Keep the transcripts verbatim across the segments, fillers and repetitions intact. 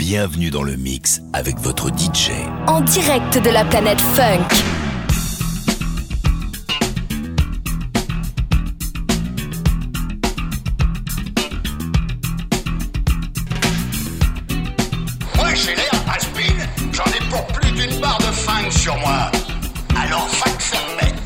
bienvenue dans le mix avec votre D J. En direct de la planète Funk. Moi j'ai l'air has-been, j'en ai pour plus d'une barre de funk sur moi. Alors va te faire mettre.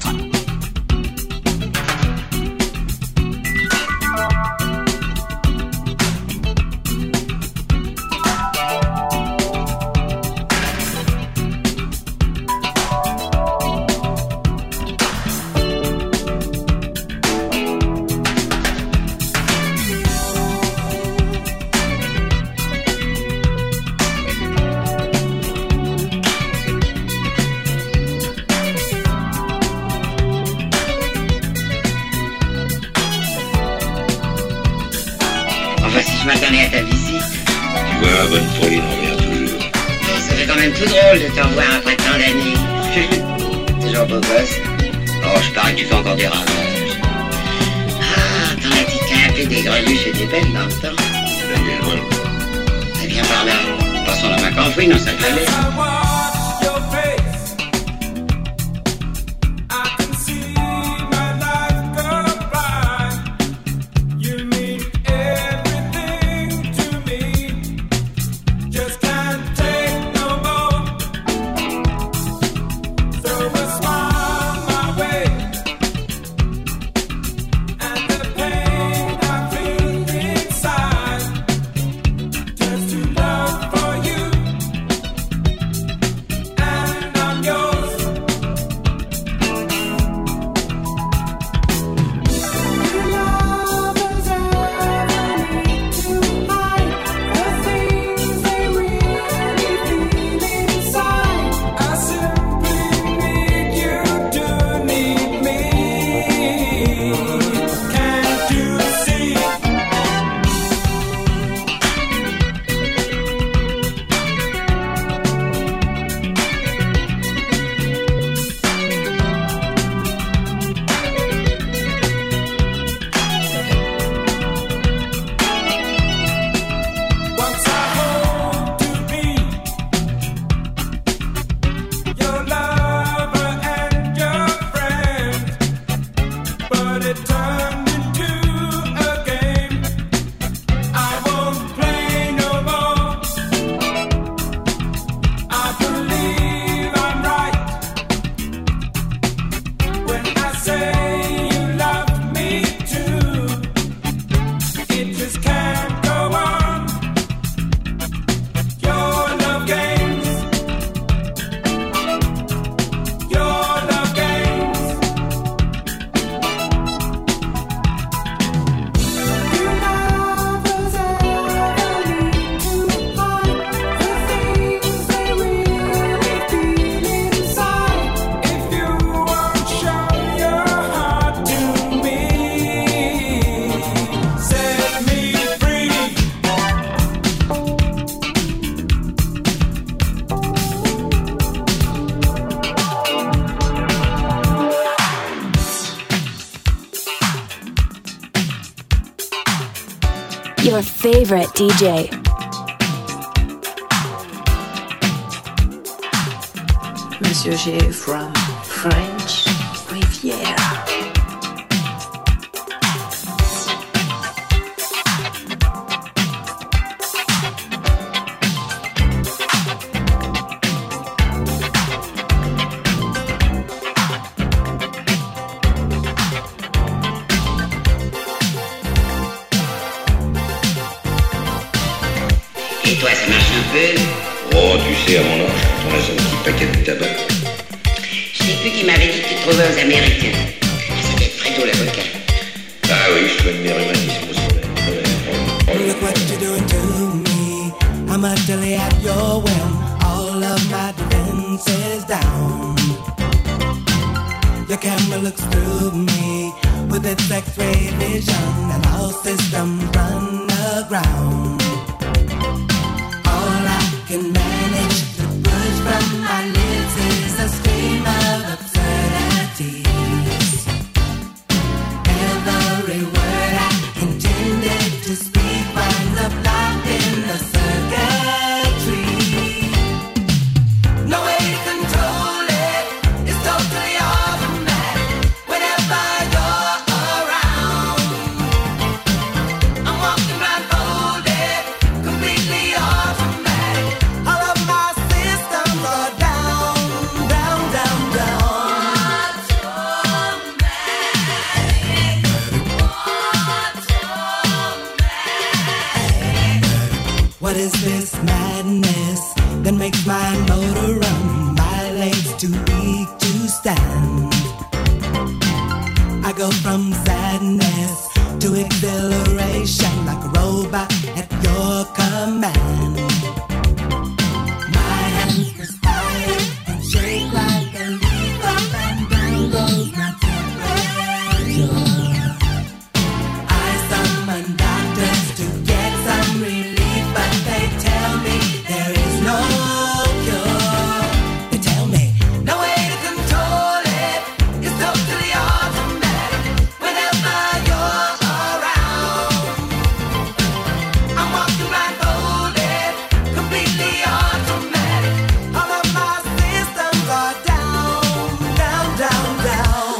Je m'attendais à ta visite. Tu vois, bonne folie n'en revient toujours. Ça fait quand même tout drôle de te revoir après tant d'années. Toujours beau gosse. Oh, je parie que tu fais encore des ravages. Ah, ton attitude un peu des greluches était belle dans le temps. La gueule, voilà. Eh bien par là, passons la main qu'enfouie dans sa galère. Your favorite D J. Monsieur G from French Riviera. Et toi, ça marche un peu? Oh, tu sais, à mon âge, quand on a son petit paquet de tabac. Je sais plus qui m'avait dit que tu te trouvais aux Américains. Ça doit être Fredo l'avocat. Ah oui, je soigne mes rhumatismes au soleil. Look what you're doing to me. I'm utterly at your whim. All of my defenses down. Your camera looks through me with its X-ray vision, and all systems run aground. All I can manage to push from my lips is a stream of absurdities. Every word I intended to speak winds up locked in the circuit madness that makes my motor run. My legs too weak to stand. I go from sadness to exhilaration like a robot at your command. My hands perspire and shake like a leaf. Up and down goes my temperature. I summon doctors to get some relief, but they tell me there is no cure. They tell me no way to control it. It's totally automatic whenever you're around. I'm walking blindfolded, completely automatic. All of my systems are down, down, down, down.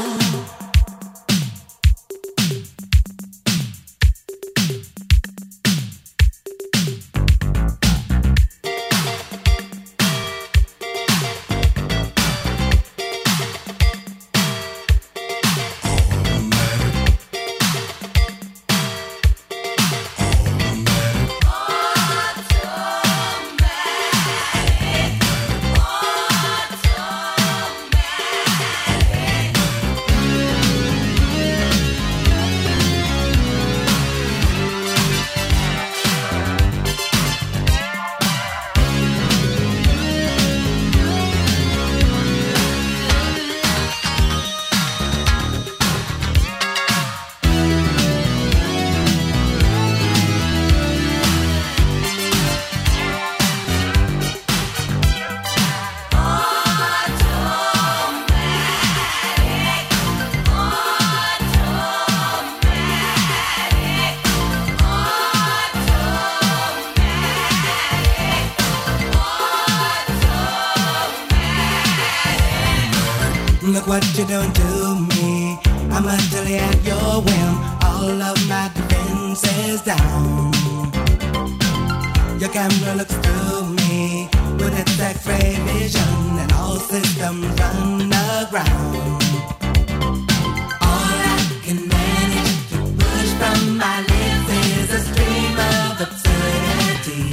Look what you're doing to me. I'm utterly at your whim. All of my defenses down. Your camera looks through me with its X-ray vision, and all systems run aground. All I can manage to push from my lips is a stream of absurdity.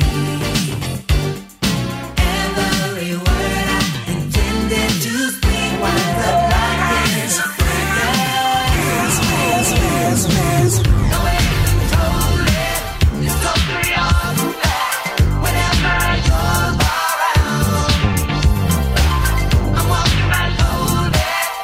Every word I intended to speak winds up like this. No way to control it. It's totally automatic whenever you're around. I'm walking blindfolded,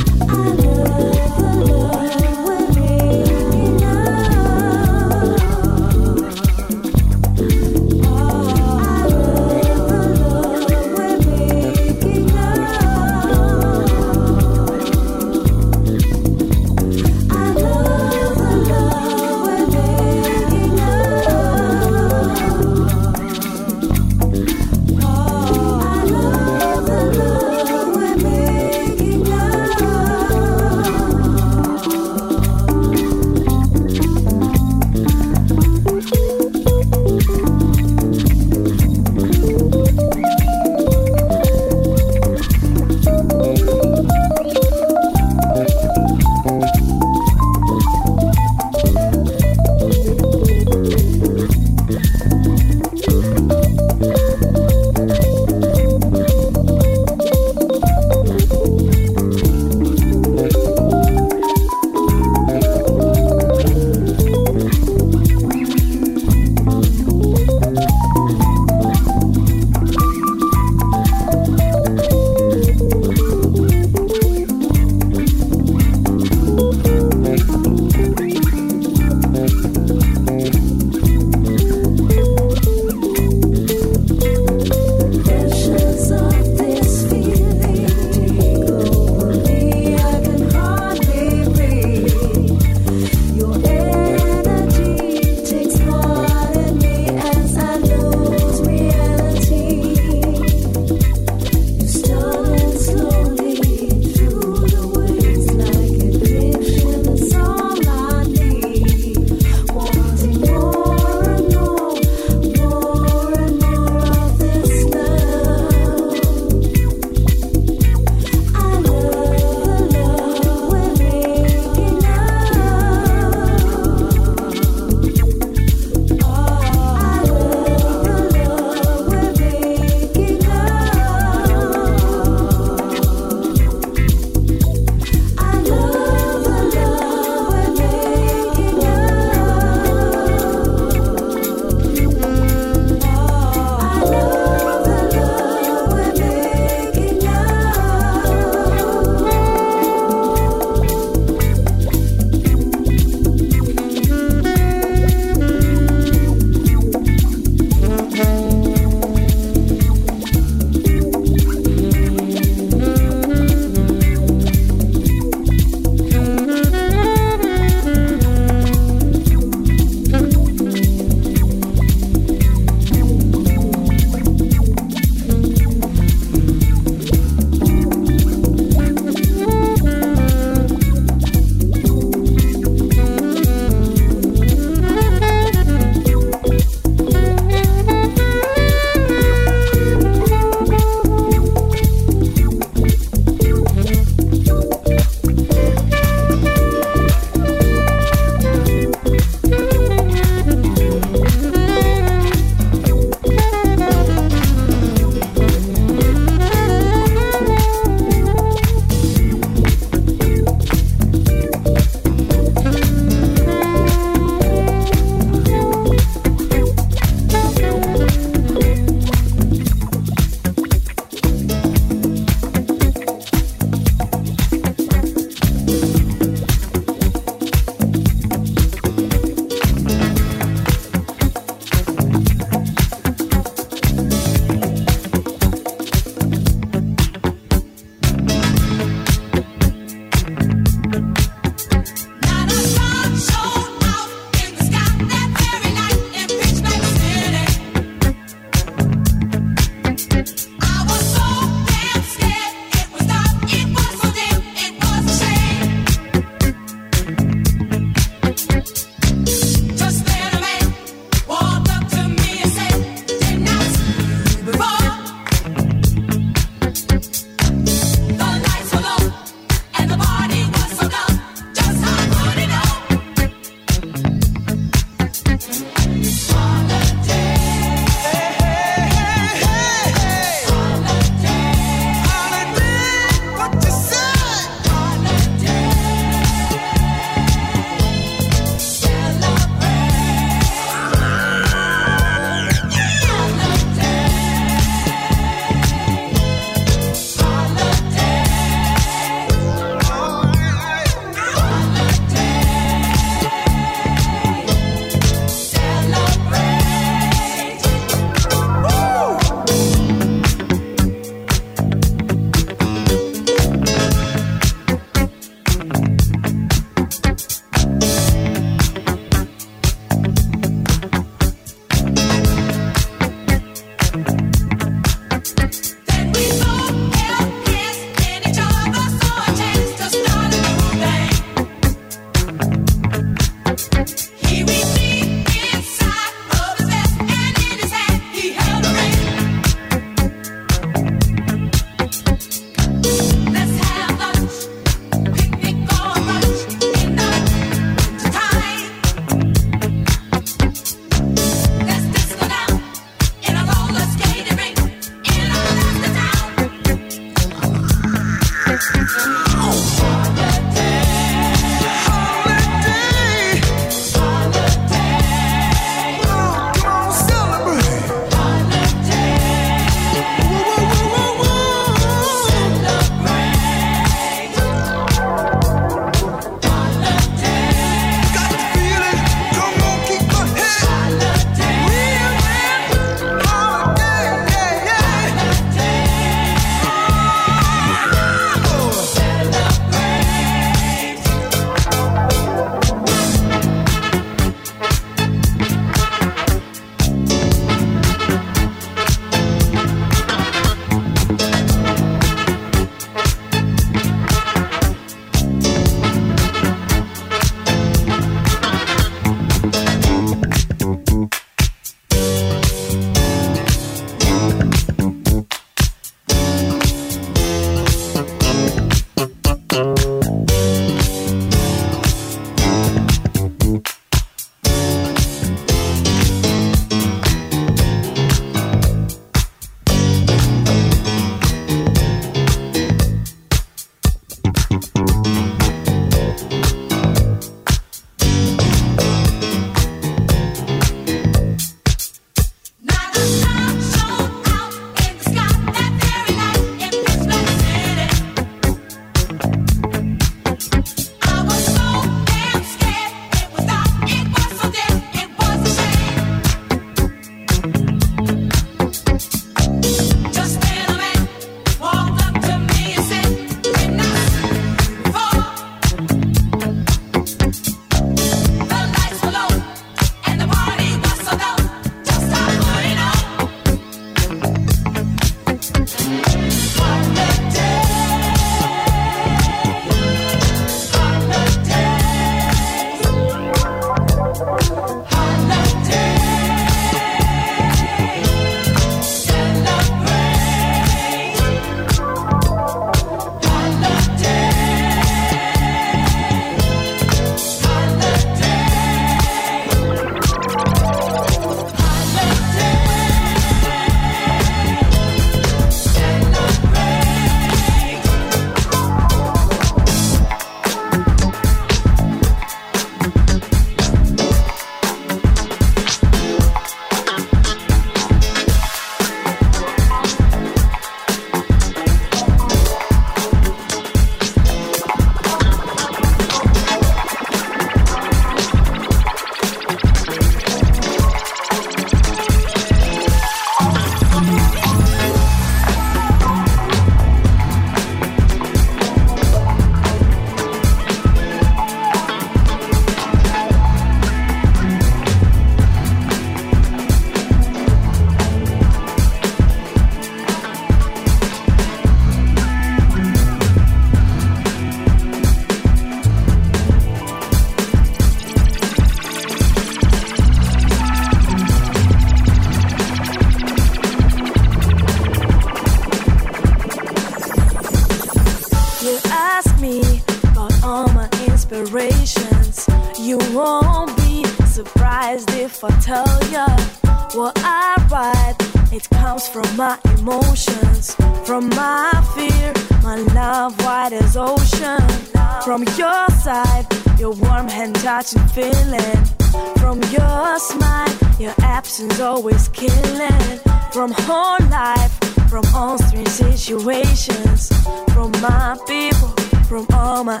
if I tell ya what I write, it comes from my emotions, from my fear, my love wide as ocean. From your side, your warm hand touching feeling. From your smile, your absence always killing. From whole life, from all strange situations. From my people, from all my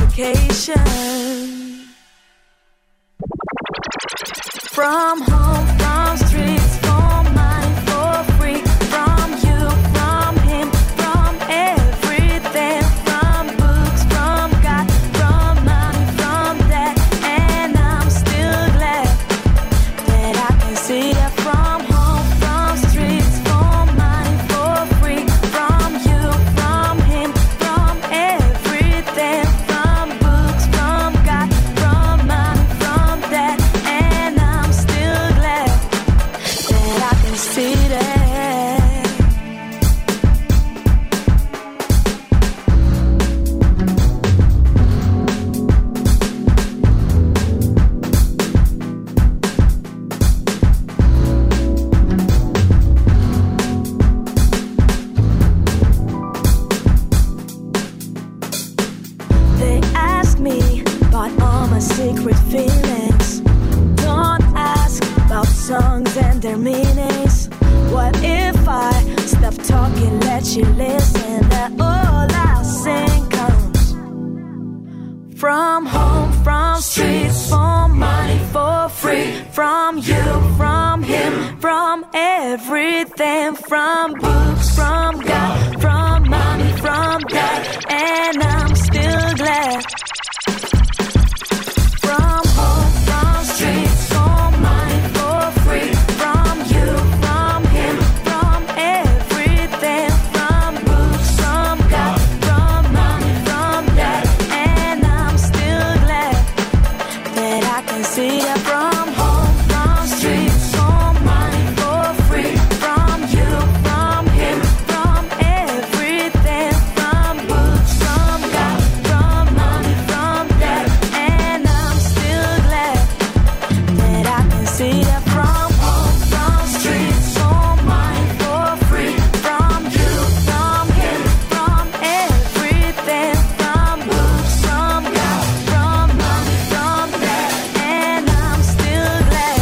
education. From home, from streets, for mine, for free. From you, from him, from everything. From books, from God, from money, from that. And I'm still glad that I can see it. From home, from streets, for mine, for free. From you, from him, from everything. From books, from God, from money, from that. And I'm still glad secret feelings. Don't ask about songs and their meanings. What if I stop talking, let you listen? That all I sing comes from home, from streets, for money, for free. From you, from him, from everything. From books, from God, from mommy, from dad. And I'm still glad. From home, from streets, for money, for free. From you, from him, from everything. From books, from God, from mommy, from dad. And I'm still glad that I can see that from home, from streets, for money, for free. From you, from him, from everything. From books, from God, from mommy, from dad. And I'm still glad that I can see that from home, from streets, for money, for free. From you, from him, from everything. From books, from God, from mommy, from dad. And I'm still glad.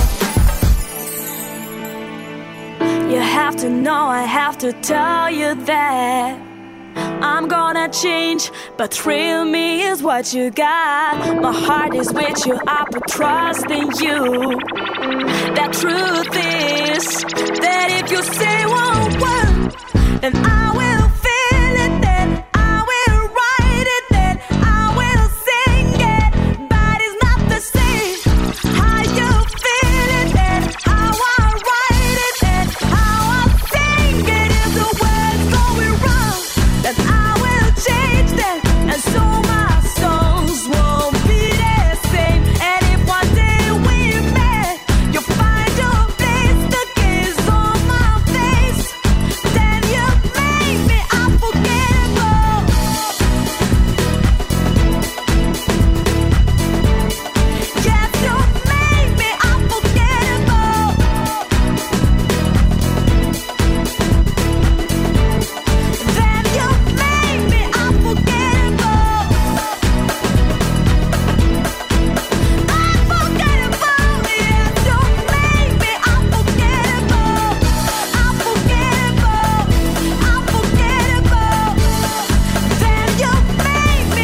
You have to know, I have to tell you that I'm gonna change, but thrill me is what you got. My heart is with you, I put trust in you. The truth is that if you say one word, then I will feel it, then I will write it, then I will sing it. But it's not the same how you feel it, and how I write it, and how I sing it. If the words going wrong, then I will change them, and so my songs won't be the same. And if one day we met, you'll find your place, the kiss on my face, then you make me unforgettable. Yes, you make me unforgettable. Then you make me unforgettable. Unforgettable, yes, you make me unforgettable. Unforgettable, unforgettable. Then you make me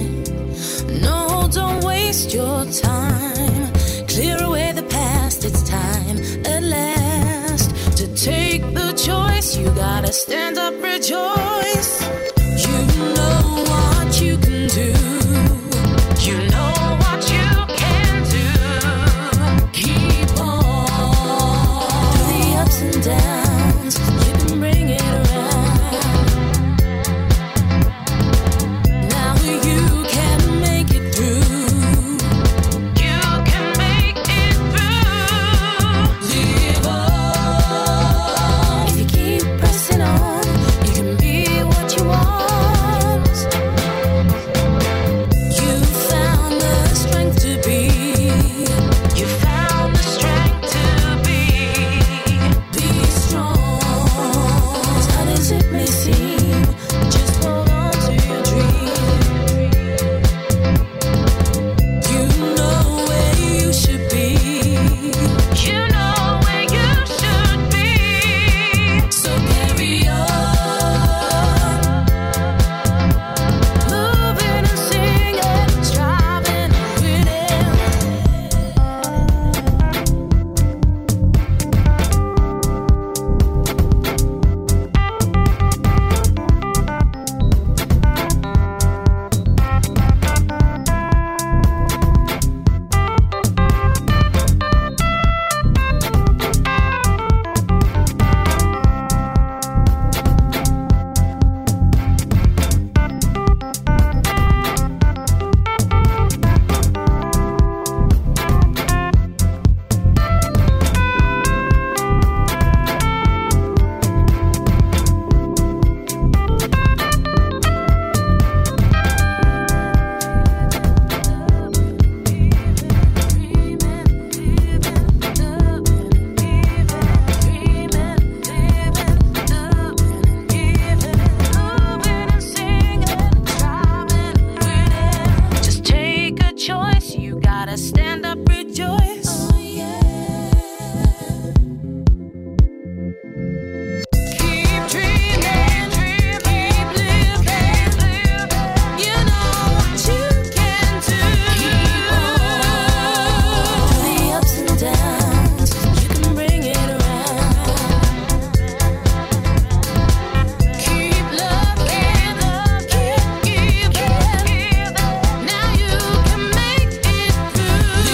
your time. Clear away the past, it's gotta stand up, rejoice. You know what you can do. You know what you can do. Keep on. Through the ups and downs, you can bring it around. Now you can make it through. You can make it through. Live on. If you keep pressing on, you can be what you want. You found the strength to be. You found the strength to be. Be strong. As hard as it may seem, just hold on to your dream. You know where you should be. You know where you should be. So carry on. Moving and singing, striving and winning. Just take a choice, you gotta stand up, rejoice. Keep dreaming, keep living. You know what you can do. Keep on. Through the ups and downs, you can bring it around. Keep loving, keep giving. Now you can make it through.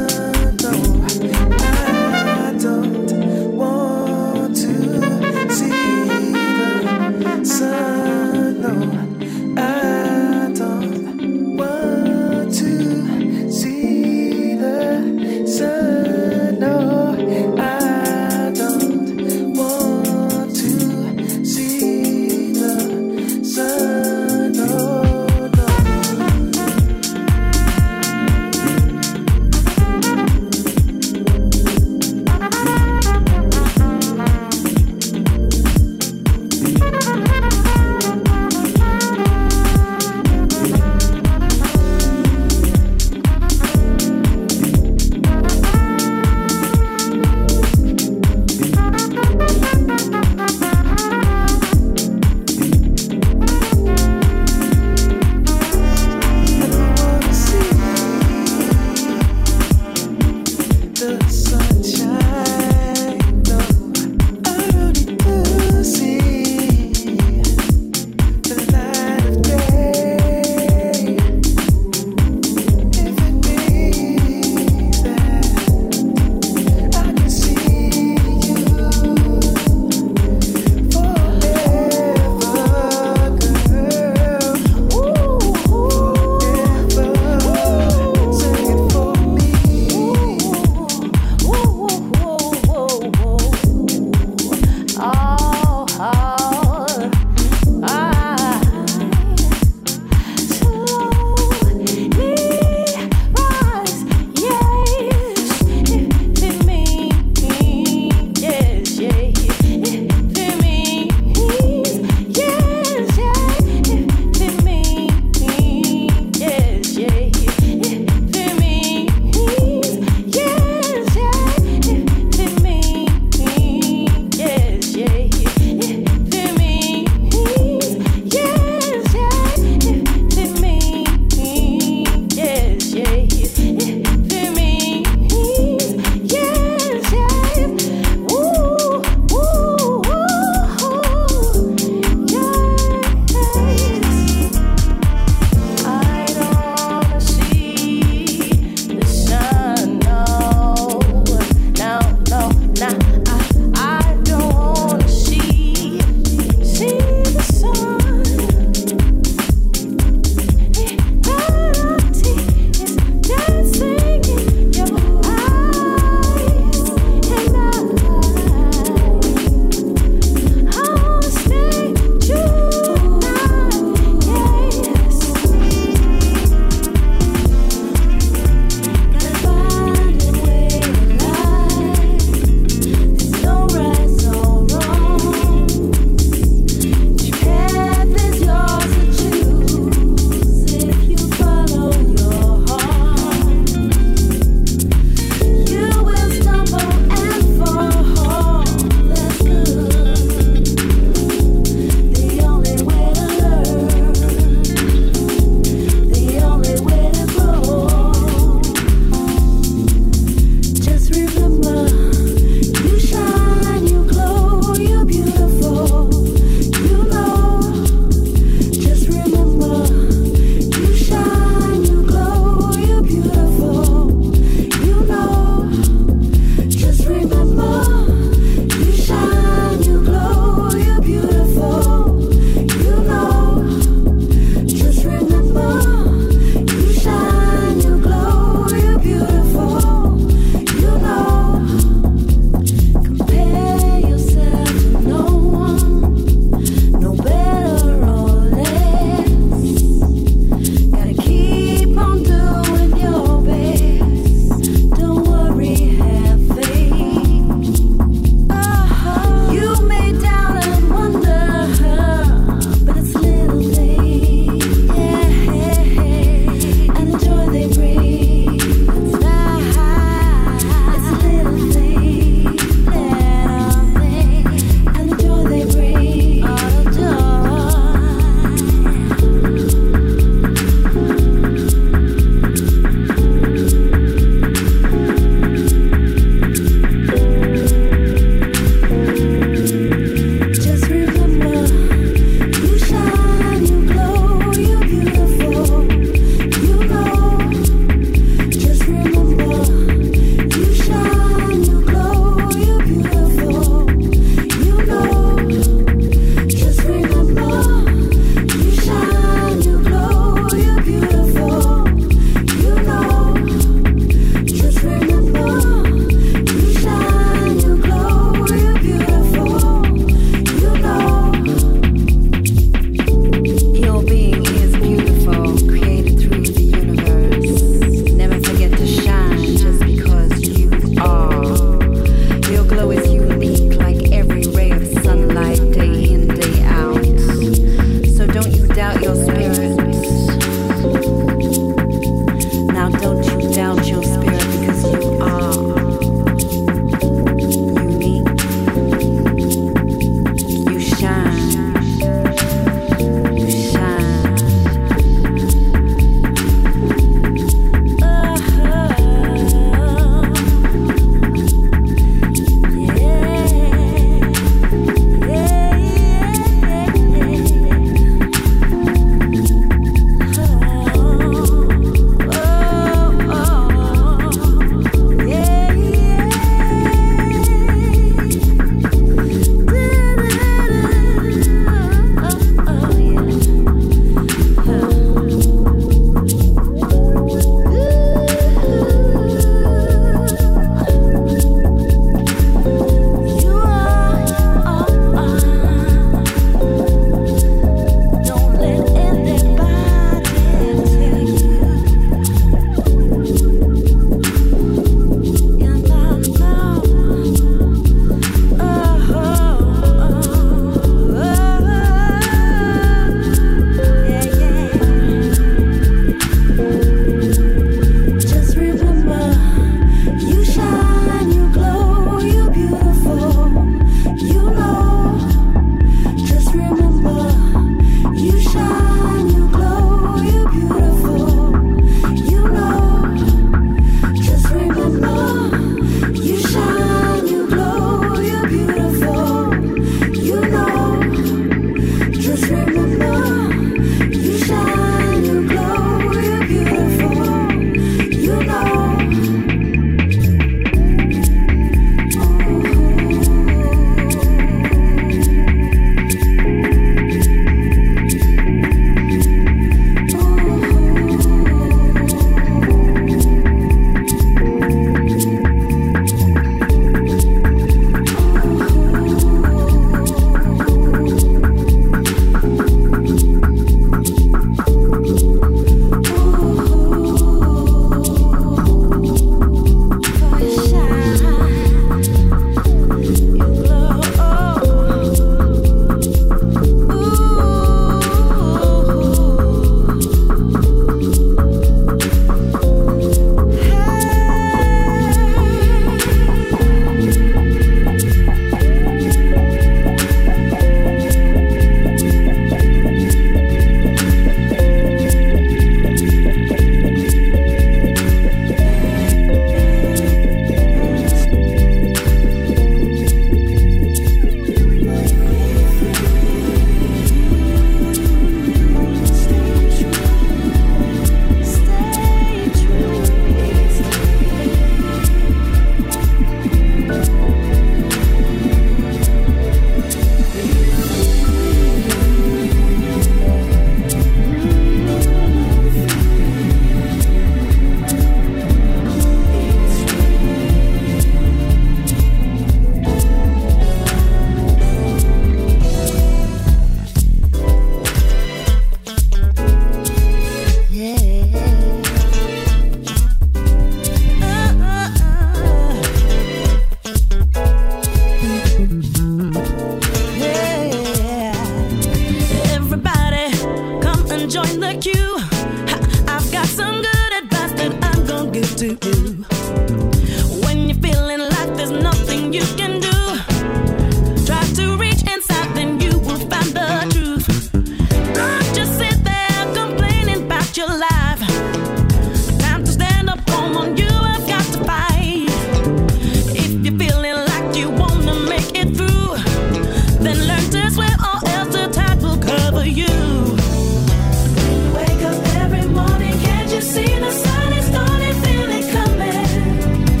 When you're feeling like there's nothing you can do, try to reach inside, then you will find the truth. Don't just sit there complaining about your life. Time to stand up, come on, you have got to fight. If you're feeling like you wanna make it through, then learn to swim or else the tide will cover you. When you wake up every morning, can't you see the sun is starting, feel it coming?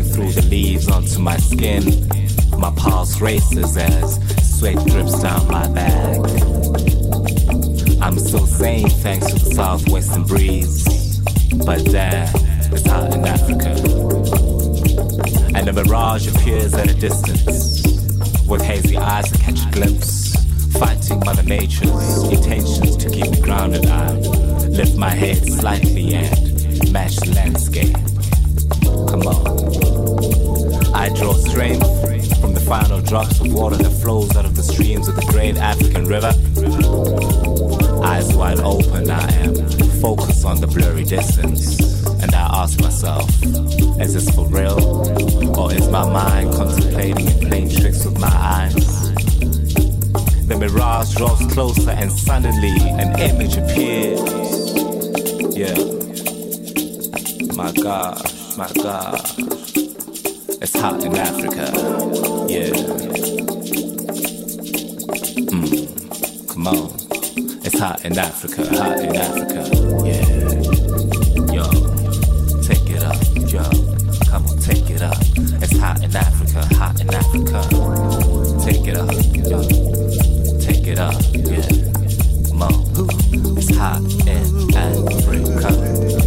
through the leaves onto my skin. My pulse races as sweat drips down my back. I'm still sane thanks to the southwestern breeze, but damn, it's hot in Africa. And a mirage appears at a distance. With hazy eyes I catch a glimpse, fighting Mother Nature's intentions to keep me grounded. I lift my head slightly and match the landscape. Come on. I draw strength from the final drops of water that flows out of the streams of the great African river. Eyes wide open, I am focused on the blurry distance. And I ask myself, is this for real? Or is my mind contemplating and playing tricks with my eyes? The mirage draws closer and suddenly an image appears. Yeah. My gosh, my gosh. It's hot in Africa. Yeah. Mm. Come on. It's hot in Africa, hot in Africa. Yeah. Yo. Take it up, yo. Come on, take it up. It's hot in Africa, hot in Africa. Take it up, yo. Take it up, yeah. Come on. It's hot in Africa.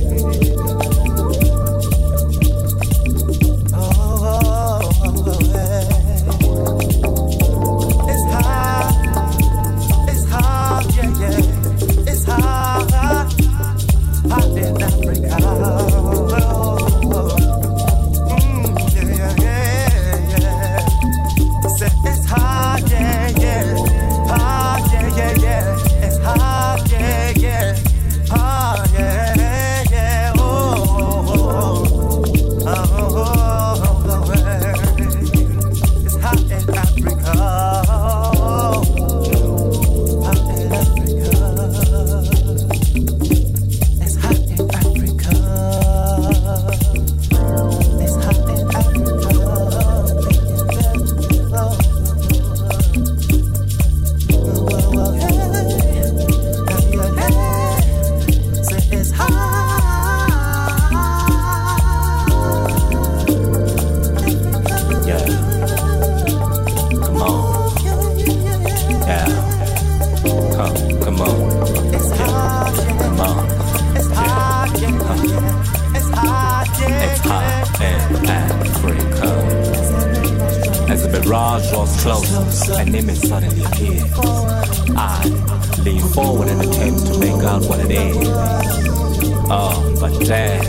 An image suddenly appears. I lean forward and attempt to make out what it is. Oh, but damn,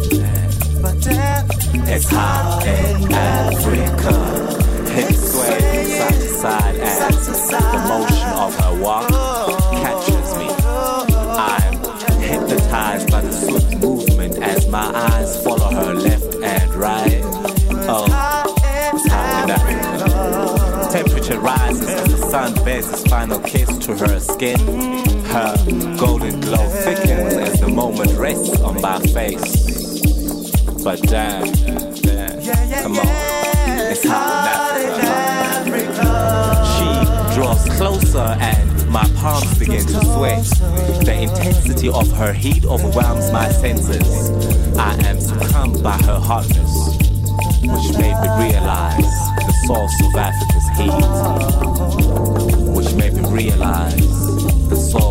it's hot in Africa. Hips sway side to side as the motion of her walk catches me. I'm hypnotized by the swift movement as my eyes follow her left and right. Oh, it's hot in Africa. Temperature rises as the sun bears its final kiss to her skin. Her golden glow thickens as the moment rests on my face. But damn, damn, come on, it's hot in Africa. She draws closer and my palms begin to sweat. The intensity of her heat overwhelms my senses. I am succumbed by her hotness, which made me realize the source of Africa's heat, which made me realize the source